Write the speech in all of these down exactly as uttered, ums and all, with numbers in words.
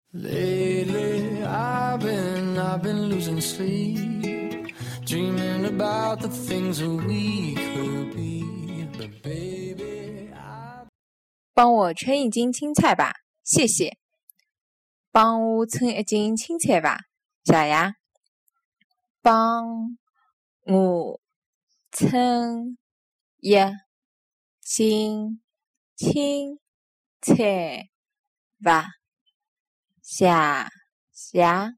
Lately, I've been, I've been losing sleep, dreaming about the things that we could be. But baby, I... 帮我称一斤青菜吧，谢谢。帮我称一斤青菜吧，谢谢。帮我称一斤青菜吧，谢谢。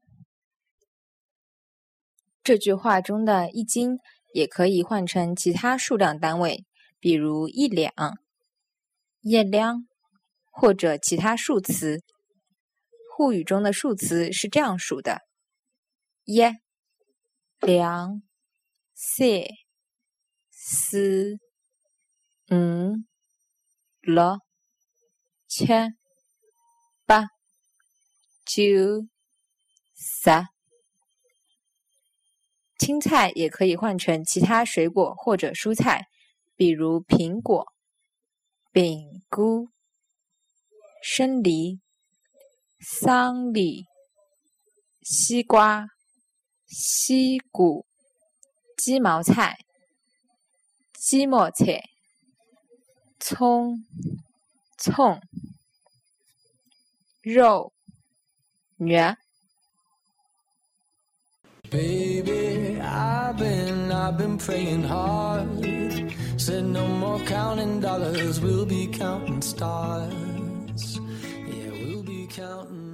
这句话中的一斤也可以换成其他数量单位，比如一两、一两或者其他数词。沪语中的数词是这样数的：一、两、三、四、五、六、七、八、九、十。青菜也可以换成其他水果或者蔬菜，比如苹果、饼菇、生梨、桑梨、西瓜、西谷、鸡毛菜、鸡毛菜、葱、葱、肉、肉。 Baby, I've been, I've been praying hard. Said no more counting dollars, we'll be counting stars. Yeah, we'll be counting